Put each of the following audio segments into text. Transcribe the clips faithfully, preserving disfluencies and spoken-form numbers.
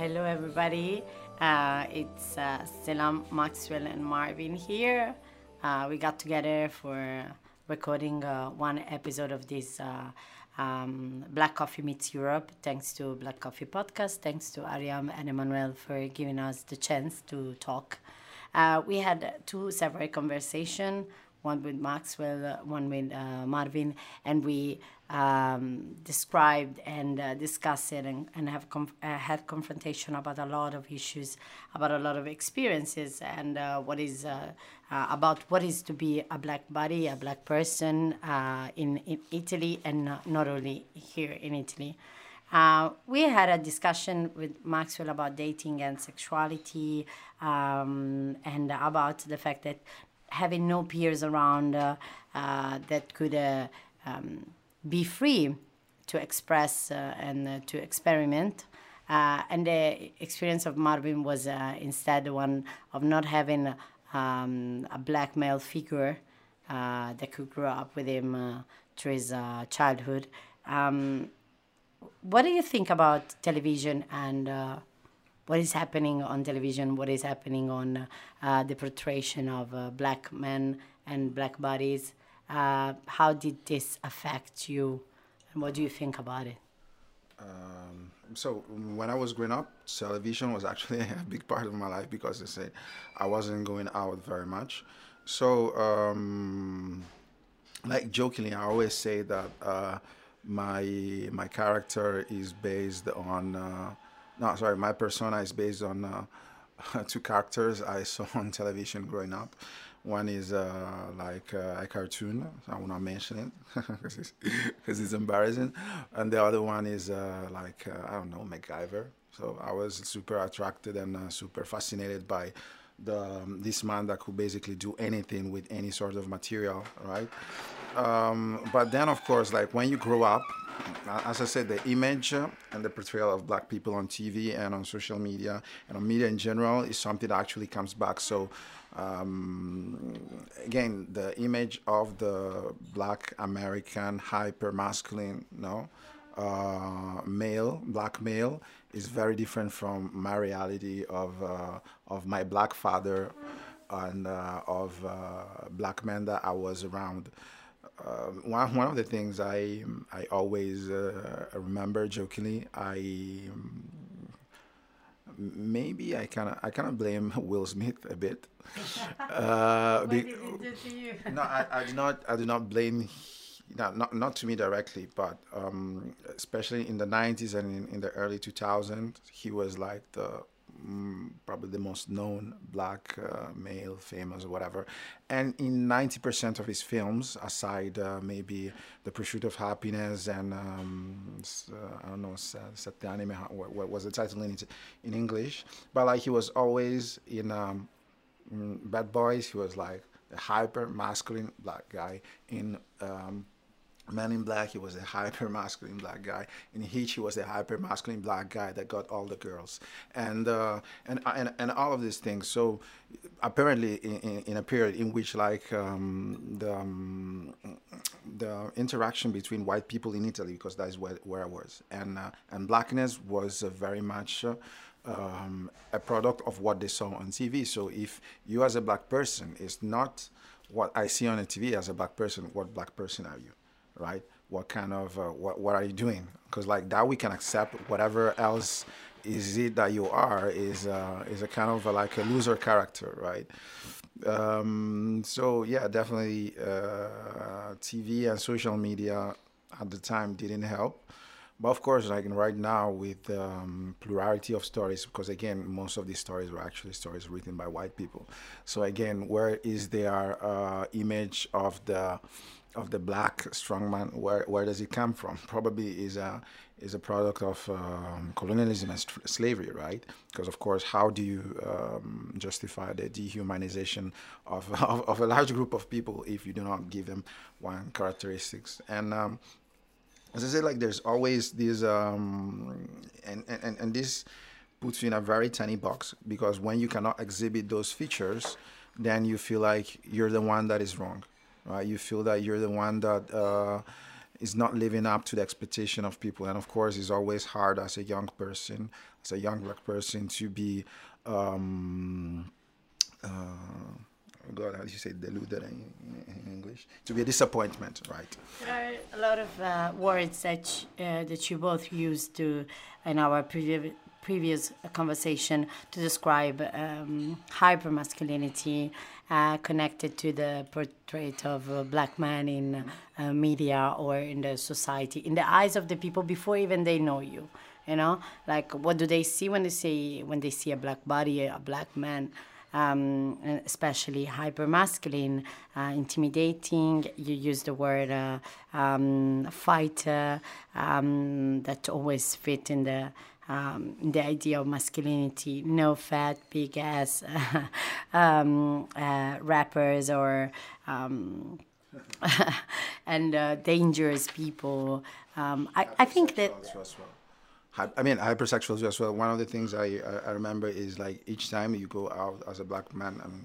hello everybody. Uh, it's uh, Selam, Maxwell, and Marvin here. Uh, we got together for recording uh, one episode of this uh, um, Black Coffee Meets Europe. Thanks to Black Coffee Podcast. Thanks to Ariam and Emmanuel for giving us the chance to talk. Uh, we had two separate conversations, one with Maxwell, uh, one with uh, Marvin, and we um, described and uh, discussed it and, and have conf- uh, had confrontation about a lot of issues, about a lot of experiences, and uh, what is uh, uh, about what is to be a black body, a black person uh, in, in Italy, and uh, not only here in Italy. Uh, we had a discussion with Maxwell about dating and sexuality, um, and about the fact that having no peers around uh, uh, that could uh, um, be free to express uh, and uh, to experiment. Uh, and the experience of Marvin was uh, instead one of not having um, a black male figure uh, that could grow up with him uh, through his uh, childhood. Um, what do you think about television and uh, what is happening on television, what is happening on uh, the portrayal of uh, black men and black bodies? Uh, how did this affect you, and what do you think about it? Um, so when I was growing up, television was actually a big part of my life because I said I wasn't going out very much. So, um, like jokingly, I always say that uh, my my character is based on. Uh, No, sorry, my persona is based on uh, two characters I saw on television growing up. One is uh, like uh, a cartoon, so I will not mention it because it's, 'cause it's embarrassing. And the other one is uh, like, uh, I don't know, MacGyver. So I was super attracted and uh, super fascinated by the um, this man that could basically do anything with any sort of material, right? Um, but then, of course, like when you grow up, as I said, the image uh, and the portrayal of black people on T V and on social media and on media in general is something that actually comes back. So, um, again, the image of the black American hyper masculine, no, uh, male, black male, is very different from my reality of uh, of my black father and uh, of uh, black men that I was around. Uh, one one of the things I I always uh, remember jokingly, I um, maybe I kind of I kind of blame Will Smith a bit. Uh, What be, did it do to you? no, I, I do not I do not blame. Not, not not to me directly, but um, especially in the nineties and in, in the early two thousands, he was like the mm, probably the most known black uh, male, famous or whatever. And in ninety percent of his films, aside uh, maybe The Pursuit of Happiness and um, s- uh, I don't know, Sa- Sette Anime, how- what, what was the title in in English? But like he was always in um, mm, Bad Boys. He was like a hyper masculine black guy. In um, Man in Black, he was a hyper masculine black guy. In Hitch, he was a hyper masculine black guy that got all the girls, and uh, and and and all of these things. So apparently, in, in, in a period in which like um, the um, the interaction between white people in Italy, because that is where, where I was, and uh, and blackness was uh, very much. Uh, um, a product of what they saw on T V. So if you as a black person is not what I see on the T V as a black person, what black person are you? Right? What kind of uh, what what are you doing? Because like that we can accept. Whatever else is it that you are is uh, is a kind of a, like a loser character, right? Um, so yeah, definitely uh, T V and social media at the time didn't help. But of course, like right now with um, plurality of stories, because again, most of these stories were actually stories written by white people. So again, where is their uh, image of the of the black strongman? Where where does it come from? Probably is a is a product of um, colonialism and st- slavery, right? Because of course, how do you um, justify the dehumanization of, of of a large group of people if you do not give them one characteristics? And um, as I said, like there's always this, um, and, and and this puts you in a very tiny box because when you cannot exhibit those features, then you feel like you're the one that is wrong, right? You feel that you're the one that uh, is not living up to the expectation of people. And of course, it's always hard as a young person, as a young black person, to be, um, uh, God, how do you say deluded in, in English? To be a disappointment, right? There are a lot of uh, words that uh, that you both used to in our previous previous conversation to describe um, hypermasculinity uh, connected to the portrait of a black man in uh, media or in the society, in the eyes of the people before even they know you. You know, like what do they see when they see when they see a black body, a black man? Um, especially hypermasculine, uh, intimidating. You use the word uh, um, fighter um, that always fit in the um, in the idea of masculinity. No fat, big ass um, uh, rappers or um, and uh, dangerous people. Um, I, I think that. I mean, hypersexuals as well. One of the things I, I remember is like each time you go out as a black man and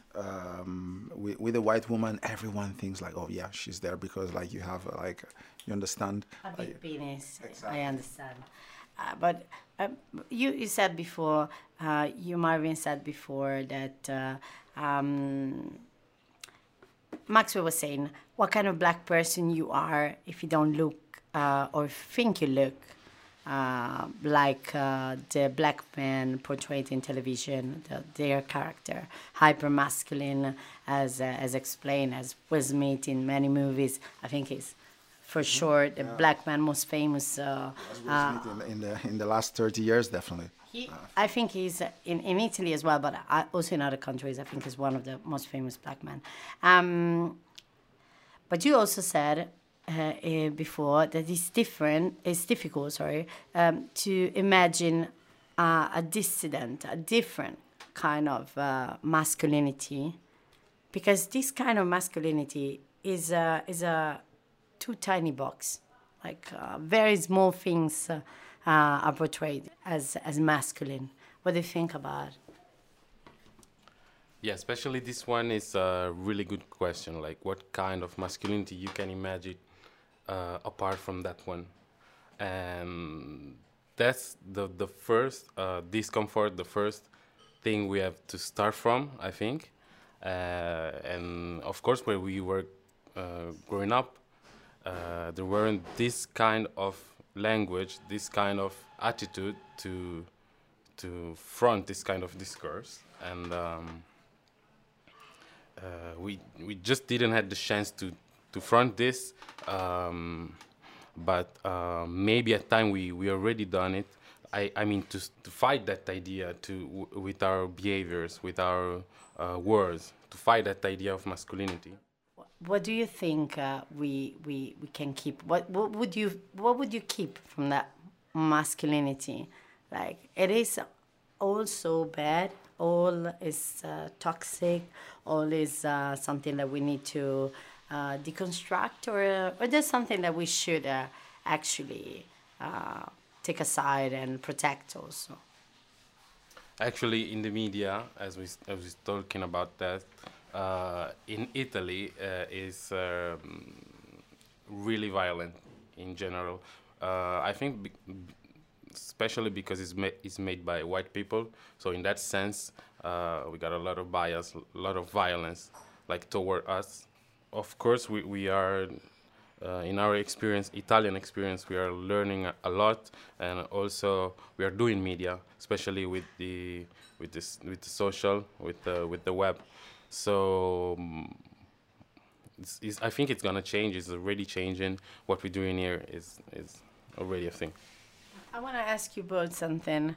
um, with, with a white woman, everyone thinks like, oh yeah, she's there because like you have like, you understand? A big like, penis, exactly. I understand. Uh, but uh, you, you said before, uh, you Marvin said before that uh, um, Maxwell was saying, what kind of black person you are if you don't look uh, or think you look Uh, like uh, the black man portrayed in television, the, their character, hyper masculine, as uh, as explained, as Will Smith in many movies. I think he's for sure the yeah. black man most famous. Uh, Will Smith in, in the in the last thirty years, definitely. He, I think he's in, in Italy as well, but I, also in other countries. I think he's one of the most famous black men. Um, but you also said. Uh, uh, before that it's different, it's difficult, sorry, um, to imagine uh, a dissident, a different kind of uh, masculinity, because this kind of masculinity is a, is a too tiny box, like uh, very small things uh, uh, are portrayed as, as masculine. What do you think about it? Yeah, especially this one is a really good question, like what kind of masculinity you can imagine Uh, apart from that one, and that's the the first uh, discomfort, the first thing we have to start from, I think. Uh, and of course, where we were uh, growing up, uh, there weren't this kind of language, this kind of attitude to to front this kind of discourse, and um, uh, we we just didn't have the chance to. to front this, um, but uh, maybe at time we, we already done it. I, I mean to to fight that idea to w with our behaviors, with our uh, words, to fight that idea of masculinity. What do you think uh, we we we can keep? What what would you what would you keep from that masculinity? Like it is all so bad. All is uh, toxic. All is uh, something that we need to. Uh, deconstruct, or uh, or there's something that we should uh, actually uh, take aside and protect also. Actually, in the media, as we as we talking about that, uh, in Italy uh, is um, really violent in general. Uh, I think, be especially because it's ma it's made by white people. So in that sense, uh, we got a lot of bias, a lot of violence, like toward us. Of course, we, we are, uh, in our experience, Italian experience, we are learning a, a lot, and also we are doing media, especially with the with this with the social, with the with the web. So um, it's, it's, I think it's gonna change. It's already changing. What we're doing here is is already a thing. I want to ask you both something.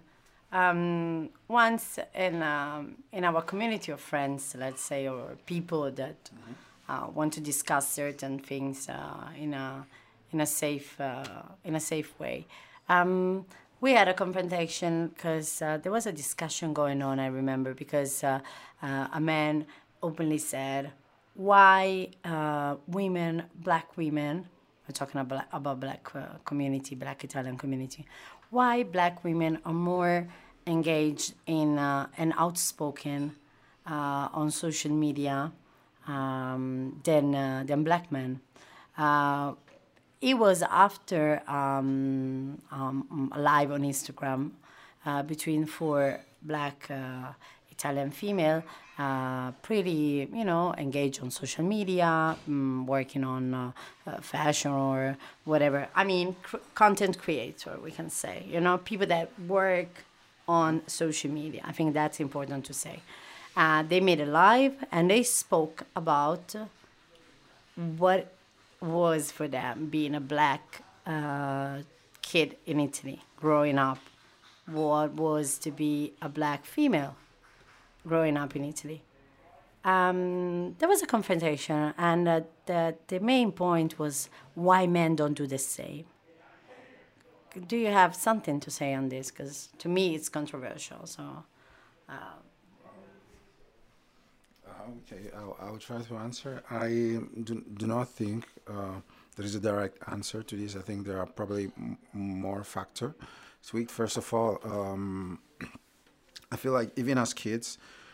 Um, once in um, in our community of friends, let's say, or people that. Mm-hmm. Uh, want to discuss certain things uh, in a in a safe uh, in a safe way. Um, we had a confrontation because uh, there was a discussion going on. I remember because uh, uh, a man openly said, "Why uh, women, black women, we're talking about about black uh, community, black Italian community, why black women are more engaged in uh, and outspoken uh, on social media." Um, than uh, than black men. Uh, it was after um, um, a live on Instagram uh, between four black uh, Italian female, uh, pretty, you know, engaged on social media, um, working on uh, uh, fashion or whatever. I mean, cr- content creator, we can say, you know, people that work on social media. I think that's important to say. Uh, they made a live and they spoke about what was for them being a black uh, kid in Italy growing up, what was to be a black female growing up in Italy. Um, there was a confrontation, and uh, the, the main point was why men don't do the same. Do you have something to say on this? Because to me, it's controversial. So, uh, Okay, I'll, I'll try to answer. I do, do not think uh, there is a direct answer to this. I think there are probably m- more factors to it. First of all, um, I feel like even as kids,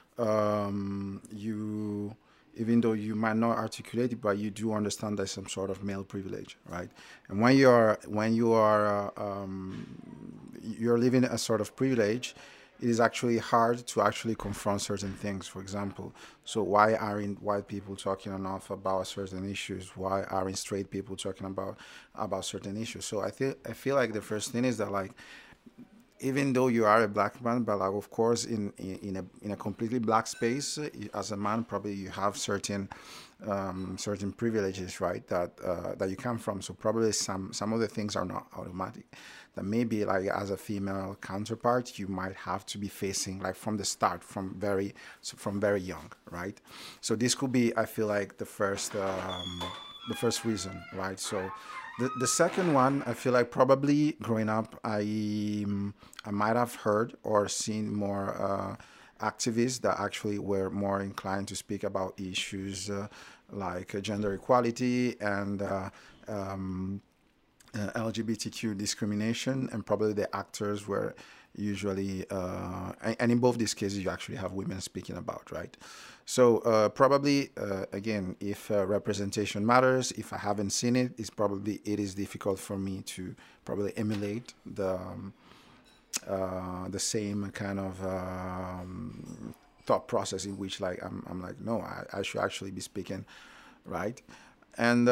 um, you, even though you might not articulate it, but you do understand there's some sort of male privilege, right? And when you are when you are uh, um, you're living a sort of privilege, it is actually hard to actually confront certain things. For example, so why aren't white people talking enough about certain issues? Why aren't straight people talking about about certain issues? So I feel I feel like the first thing is that, like, even though you are a black man, but like, of course, in, in in a in a completely black space, uh, as a man, probably you have certain um, certain privileges, right? That uh, that you come from. So probably some some of the things are not automatic. That maybe, like, as a female counterpart, you might have to be facing, like, from the start, from very so from very young, right? So this could be, I feel like, the first um, the first reason, right? So the, the second one, I feel like probably growing up, I um, I might have heard or seen more uh, activists that actually were more inclined to speak about issues uh, like uh, gender equality and uh, um, uh, L G B T Q discrimination, and probably the actors were usually, uh, and, and in both these cases, you actually have women speaking about, right? So uh, probably, uh, again, if uh, representation matters, if I haven't seen it, it's probably, it is difficult for me to probably emulate the um, uh, the same kind of um, thought process in which, like, I'm, I'm like, no, I, I should actually be speaking, right? And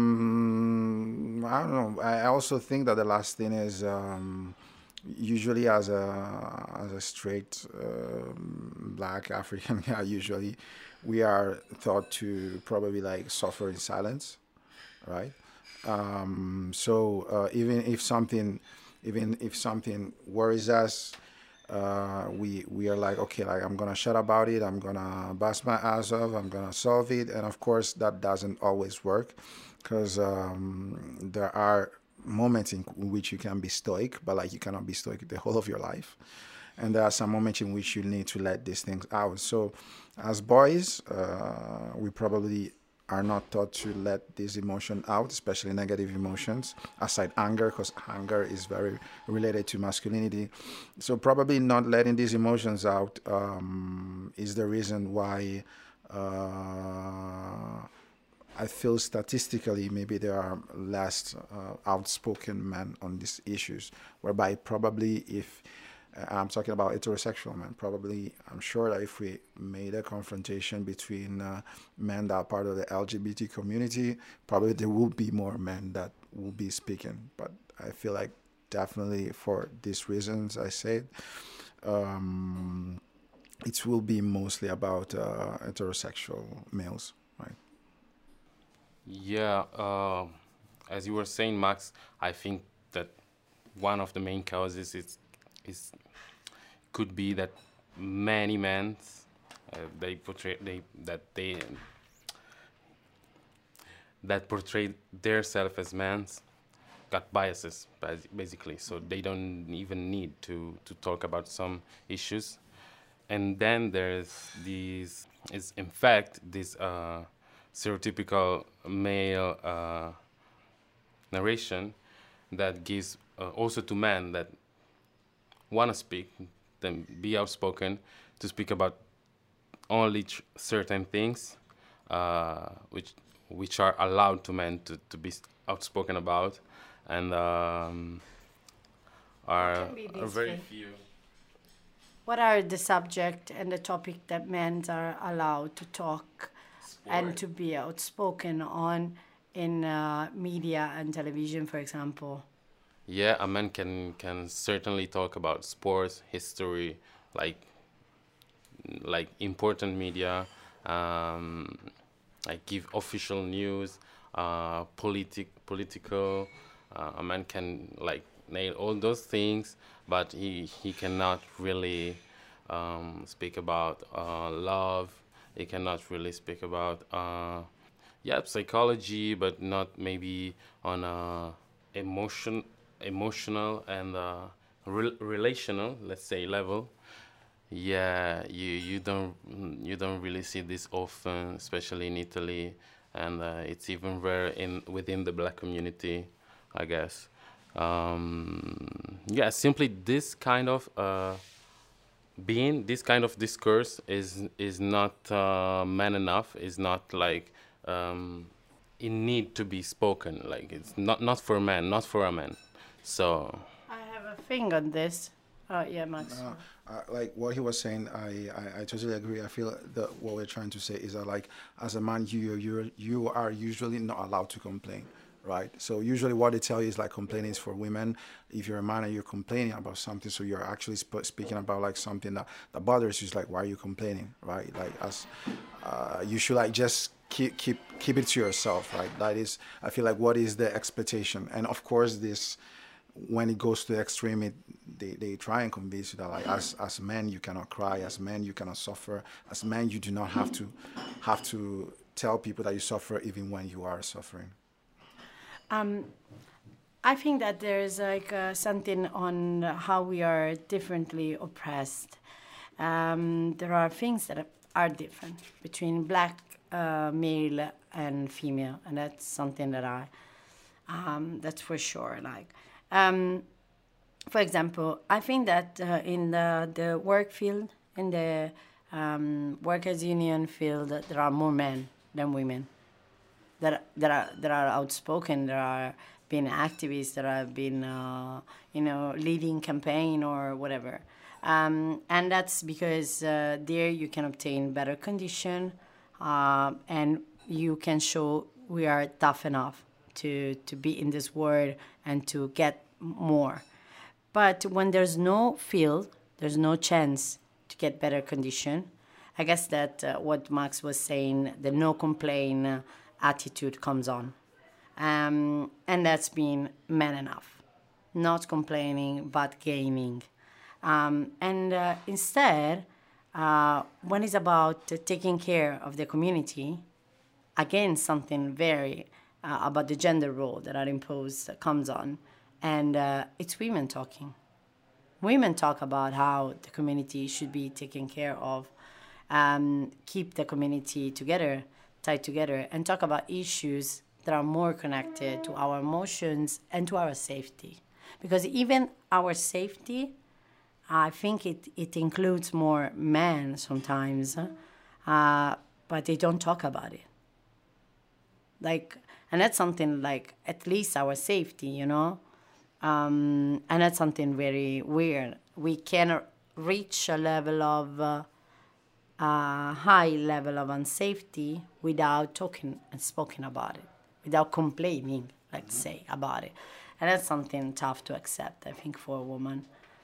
um, I don't know. I also think that the last thing is um, usually as a as a straight um, black African guy, usually we are thought to probably, like, suffer in silence, right? Um, so uh, even if something, even if something worries us, uh, we we are like, okay, like, I'm gonna shut about it. I'm gonna bust my ass off. I'm gonna solve it. And of course, that doesn't always work, because um, there are moments in which you can be stoic, but, like, you cannot be stoic the whole of your life. And there are some moments in which you need to let these things out. So, as boys, uh, we probably are not taught to let this emotion out, especially negative emotions, aside anger, because anger is very related to masculinity. So probably not letting these emotions out um, is the reason why uh, I feel statistically maybe there are less uh, outspoken men on these issues, whereby probably if uh, I'm talking about heterosexual men. Probably, I'm sure that if we made a confrontation between uh, men that are part of the L G B T community, probably there will be more men that will be speaking. But I feel like definitely for these reasons I said, um, it will be mostly about uh, heterosexual males, right? Yeah, uh, as you were saying, Max, I think that one of the main causes is is could be that many men uh, they portray they that they that portray themselves as men got biases bas- basically, so they don't even need to to talk about some issues. And then there's these is in fact this uh, stereotypical male uh, narration that gives uh, also to men that want to speak, then be outspoken, to speak about only tr- certain things, uh, which which are allowed to men to, to be outspoken about, and um, are, can be are these very things? few. What are the subject and the topic that men are allowed to talk and Sport. to be outspoken on in uh, media and television, for example? Yeah, a man can can certainly talk about sports, history, like like important media, um, like give official news, uh, politic political. Uh, a man can like nail all those things, but he he cannot really um, speak about uh, love. He cannot really speak about uh, yeah, psychology, but not maybe on a emotion emotional and uh, re- relational, let's say, level. Yeah, you you don't you don't really see this often, especially in Italy, and uh, it's even rare in within the black community, I guess. Um, yeah, simply this kind of uh, being, this kind of discourse is is not uh, man enough. Is not like um, in need to be spoken. Like it's not not for man, not for a man. So I have a thing on this. Oh, yeah, Max. Uh, uh, like what he was saying, I, I, I totally agree. I feel that what we're trying to say is that, like, as a man, you you you are usually not allowed to complain, right? So usually, what they tell you is like complaining is for women. If you're a man and you're complaining about something, so you're actually sp- speaking about like something that, that bothers you. It's like, why are you complaining, right? Like, as uh, you should like just keep keep keep it to yourself, right? That is, I feel like, what is the expectation, and of course, this. When it goes to the extreme, it, they, they try and convince you that like as as men you cannot cry, as men you cannot suffer, as men you do not have to have to tell people that you suffer even when you are suffering. Um, I think that there is like uh, something on how we are differently oppressed. Um, there are things that are different between black uh, male and female, and that's something that I um, that's for sure. Like. Um, for example, I think that uh, in the, the work field, in the um, workers' union field, there are more men than women that that are that are outspoken, that are being activists, that have been uh, you know leading campaign or whatever, um, and that's because uh, there you can obtain better condition, uh, and you can show we are tough enough to to be in this world and to get more. But when there's no field, there's no chance to get better condition. I guess that uh, what Max was saying, the no complain uh, attitude comes on. Um, and that's been man enough. Not complaining, but gaining. Um, and uh, instead, uh, when it's about uh, taking care of the community, again, something very uh, about the gender role that are imposed uh, comes on. And uh, it's women talking. Women talk about how the community should be taken care of, um, keep the community together, tied together, and talk about issues that are more connected to our emotions and to our safety. Because even our safety, I think it, it includes more men sometimes, uh, but they don't talk about it. Like, and that's something like at least our safety, you know? Um, and that's something very weird. We can reach a level of uh, a high level of unsafety without talking and speaking about it, without complaining, let's say, about it. And that's something tough to accept, I think, for a woman.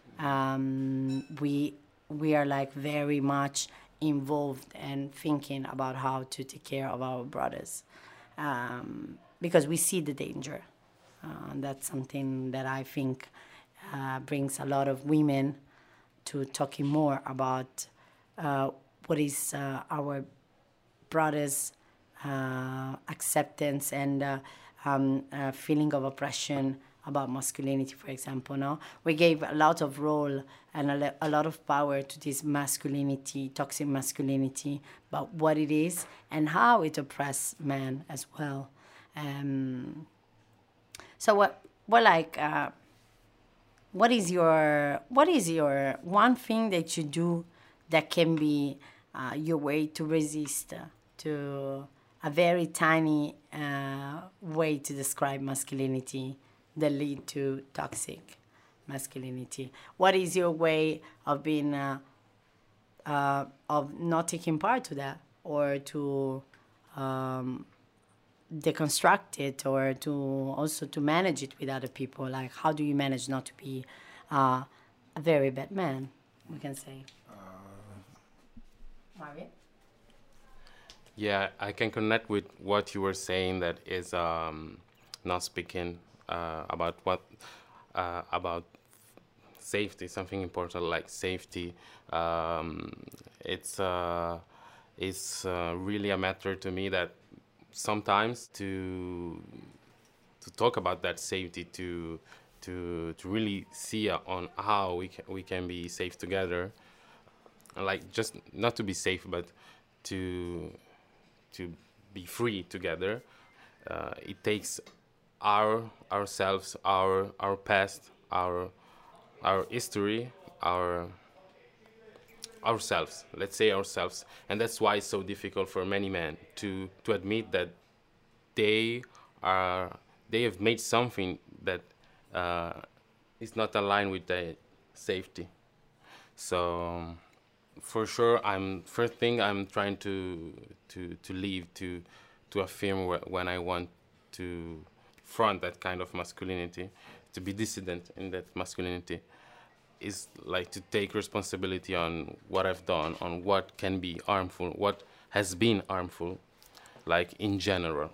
Um, we we are like very much involved and thinking about how to take care of our brothers um, because we see the danger. Uh, and that's something that I think uh, brings a lot of women to talking more about uh, what is uh, our brothers' uh, acceptance and uh, um, uh, feeling of oppression about masculinity, for example. No, we gave a lot of role and a, le- a lot of power to this masculinity, toxic masculinity, about what it is and how it oppresses men as well. Um, so what, what like, uh, what is your, what is your one thing that you do that can be uh, your way to resist uh, to a very tiny uh, way to describe masculinity that lead to toxic masculinity. What is your way of being, uh, uh, of not taking part to that, or to um, deconstruct it, or to also to manage it with other people? Like, how do you manage not to be uh, a very bad man, we can say? Marvin? Yeah, I can connect with what you were saying. That is um, not speaking uh, about what uh, about safety, something important like safety. Um, it's uh, it's uh, really a matter to me that sometimes to to talk about that safety, to to to really see uh, on how we can, we can be safe together, like just not to be safe, but to to be free together. Uh, it takes our ourselves, our our past, our our history, our ourselves. Let's say ourselves, and that's why it's so difficult for many men to to admit that they are they have made something that uh, is not aligned with their safety. So for sure, I'm first thing I'm trying to to to leave to to affirm wh- when I want to front that kind of masculinity, to be dissident in that masculinity, is like to take responsibility on what I've done, on what can be harmful, what has been harmful, like in general.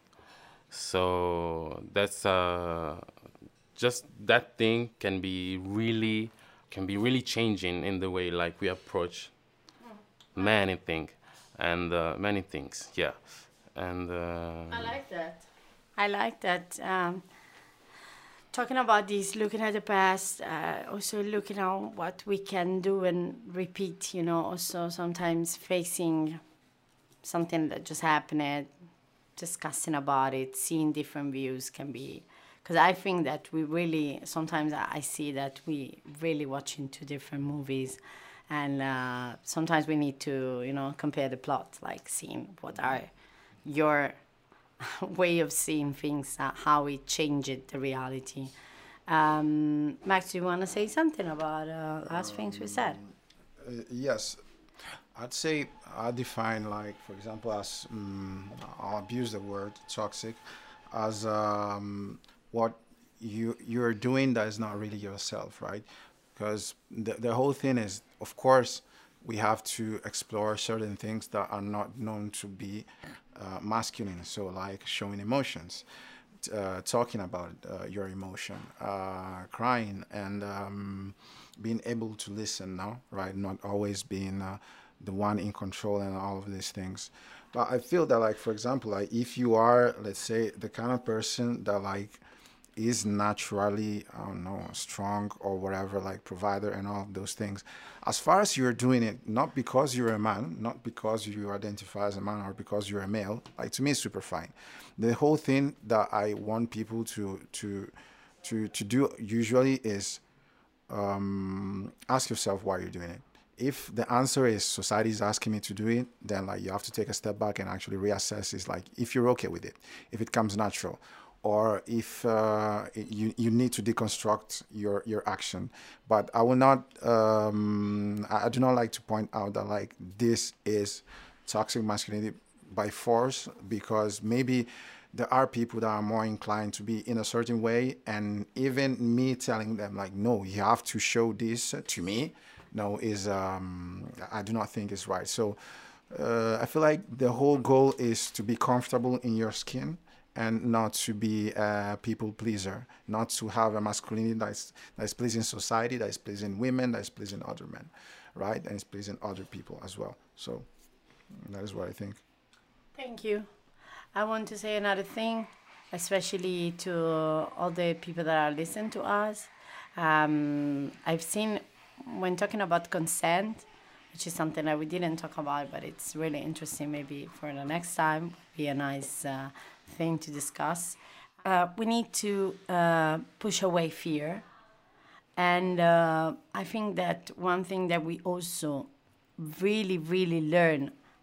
So that's uh, just that thing can be really can be really changing in the way like we approach many things and uh, many things. Yeah, and uh, I like that. I like that. Um, talking about this, looking at the past, uh, also looking at what we can do and repeat, you know, also sometimes facing something that just happened, discussing about it, seeing different views can be, because I think that we really, sometimes I I see that we really watching two different movies, and uh, sometimes we need to, you know, compare the plot, like seeing what are your way of seeing things, uh, how it changed the reality. Um, Max, do you want to say something about uh, last things we said? Uh, yes, I'd say I define, like, for example, as um, I'll abuse the word toxic as um, what you you're doing that is not really yourself, right? Because the the whole thing is, of course, we have to explore certain things that are not known to be uh, masculine. So, like showing emotions, t- uh, talking about uh, your emotion, uh, crying, and um, being able to listen now, right? Not always being uh, the one in control and all of these things. But I feel that, like, for example, like if you are, let's say, the kind of person that like is naturally, I don't know, strong or whatever, like provider and all of those things. As far as you're doing it, not because you're a man, not because you identify as a man or because you're a male, like to me, it's super fine. The whole thing that I want people to to to to do usually is um, ask yourself why you're doing it. If the answer is society is asking me to do it, then like you have to take a step back and actually reassess. Is like if you're okay with it, if it comes natural, or if uh, you you need to deconstruct your your action. But I will not. Um, I I do not like to point out that like this is toxic masculinity by force, because maybe there are people that are more inclined to be in a certain way, and even me telling them like, no, you have to show this to me, no, is um, I do not think is right. So uh, I feel like the whole goal is to be comfortable in your skin and not to be a people pleaser, not to have a masculinity that's that is pleasing society, that is pleasing women, that is pleasing other men, right, and it's pleasing other people as well. So that is what I think. Thank you. I want to say another thing, especially to all the people that are listening to us. Um, I've seen when talking about consent, which is something that we didn't talk about, but it's really interesting. Maybe for the next time, be a nice uh, thing to discuss. Uh, we need to uh, push away fear, and uh, I think that one thing that we also really, really learn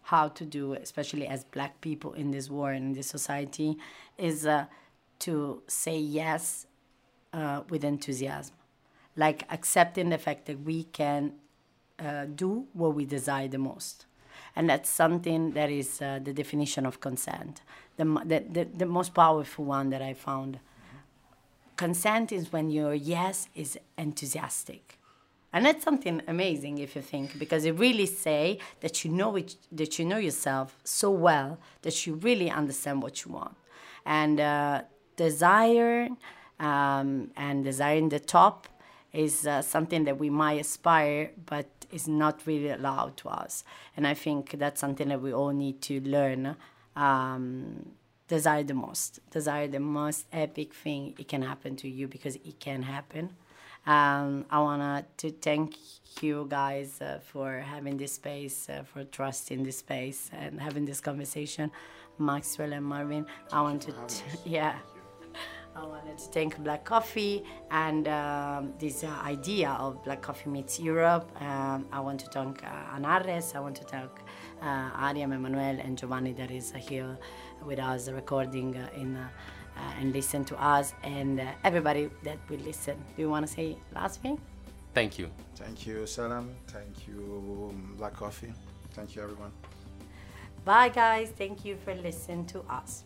how to do, especially as Black people in this war and in this society, is uh, to say yes uh, with enthusiasm, like accepting the fact that we can uh, do what we desire the most. And that's something that is uh, the definition of consent, the, the, the, the most powerful one that I found. Consent is when your yes is enthusiastic. And that's something amazing if you think, because it really say that you know it, that you know yourself so well that you really understand what you want. And uh, desire um, and desiring the top is uh, something that we might aspire, but is not really allowed to us. And I think that's something that we all need to learn. Um, desire the most. Desire the most epic thing it can happen to you, because it can happen. Um, I want to thank you guys uh, for having this space, uh, for trusting this space and having this conversation. Maxwell and Marvin, I want to, t- yeah. I wanted to thank Black Coffee and um, this uh, idea of Black Coffee Meets Europe. Um, I want to thank uh, Anares. I want to thank uh, Ariam, Emmanuel, and Giovanni that is uh, here with us recording uh, in, uh, uh, and listen to us, and uh, everybody that will listen. Do you want to say last thing? Thank you. Thank you, Selam. Thank you, Black Coffee. Thank you, everyone. Bye, guys. Thank you for listening to us.